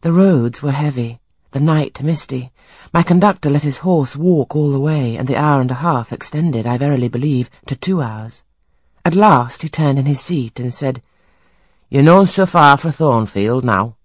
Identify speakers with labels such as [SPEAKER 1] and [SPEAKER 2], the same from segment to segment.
[SPEAKER 1] The roads were heavy, the night misty. My conductor let his horse walk all the way, and the hour and a half extended, I verily believe, to 2 hours. At last he turned in his seat and said, "You're not so far for Thornfield now."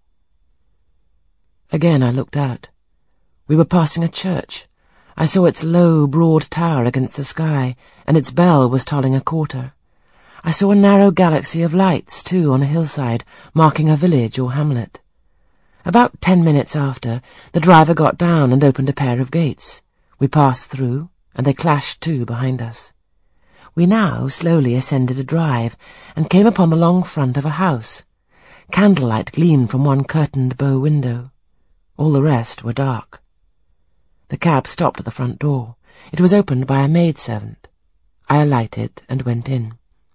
[SPEAKER 1] Again I looked out. We were passing a church. I saw its low, broad tower against the sky, and its bell was tolling a quarter. I saw a narrow galaxy of lights, too, on a hillside, marking a village or hamlet. About 10 minutes after, the driver got down and opened a pair of gates. We passed through, and they clashed to behind us. We now slowly ascended a drive, and came upon the long front of a house. Candlelight gleamed from one curtained bow window. All the rest were dark. The cab stopped at the front door. It was opened by a maidservant. I alighted and went in.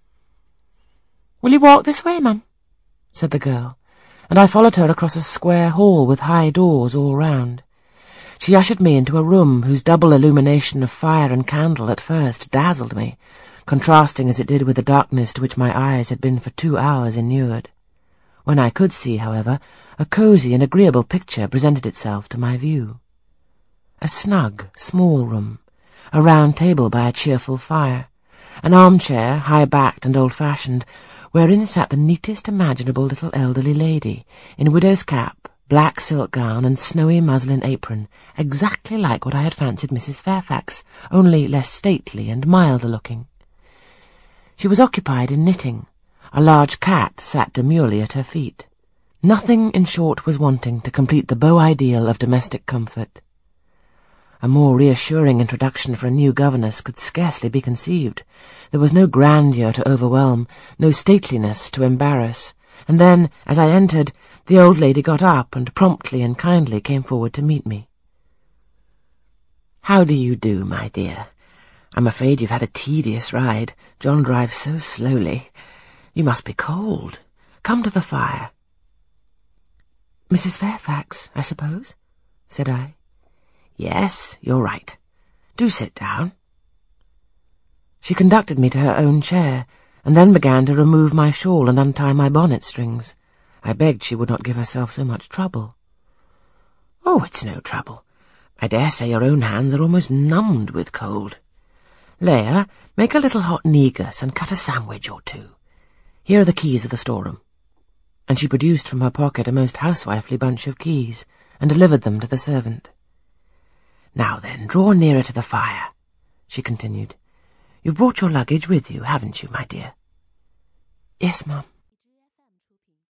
[SPEAKER 1] "Will you walk this way, ma'am?" said the girl, and I followed her across a square hall with high doors all round. She ushered me into a room whose double illumination of fire and candle at first dazzled me, contrasting as it did with the darkness to which my eyes had been for 2 hours inured. When I could see, however, a cosy and agreeable picture presented itself to my view. A snug, small room, a round table by a cheerful fire, an armchair, high-backed and old-fashioned, wherein sat the neatest imaginable little elderly lady, in widow's cap, black silk gown, and snowy muslin apron, exactly like what I had fancied Mrs. Fairfax, only less stately and milder-looking. She was occupied in knitting. A large cat sat demurely at her feet. Nothing, in short, was wanting to complete the beau ideal of domestic comfort. A more reassuring introduction for a new governess could scarcely be conceived. There was no grandeur to overwhelm, no stateliness to embarrass, and then, as I entered, the old lady got up and promptly and kindly came forward to meet me. "How do you do, my dear? I'm afraid you've had a tedious ride. John drives so slowly. You must be cold. Come to the fire." "Mrs. Fairfax, I suppose?" said I. "Yes, you're right. Do sit down." She conducted me to her own chair, and then began to remove my shawl and untie my bonnet strings. I begged she would not give herself so much trouble. "Oh, it's no trouble. I dare say your own hands are almost numbed with cold. Leah, make a little hot negus and cut a sandwich or two. Here are the keys of the storeroom." And she produced from her pocket a most housewifely bunch of keys, and delivered them to the servant. "Now then, draw nearer to the fire," she continued. "You've brought your luggage with you, haven't you, my dear?" "Yes, ma'am."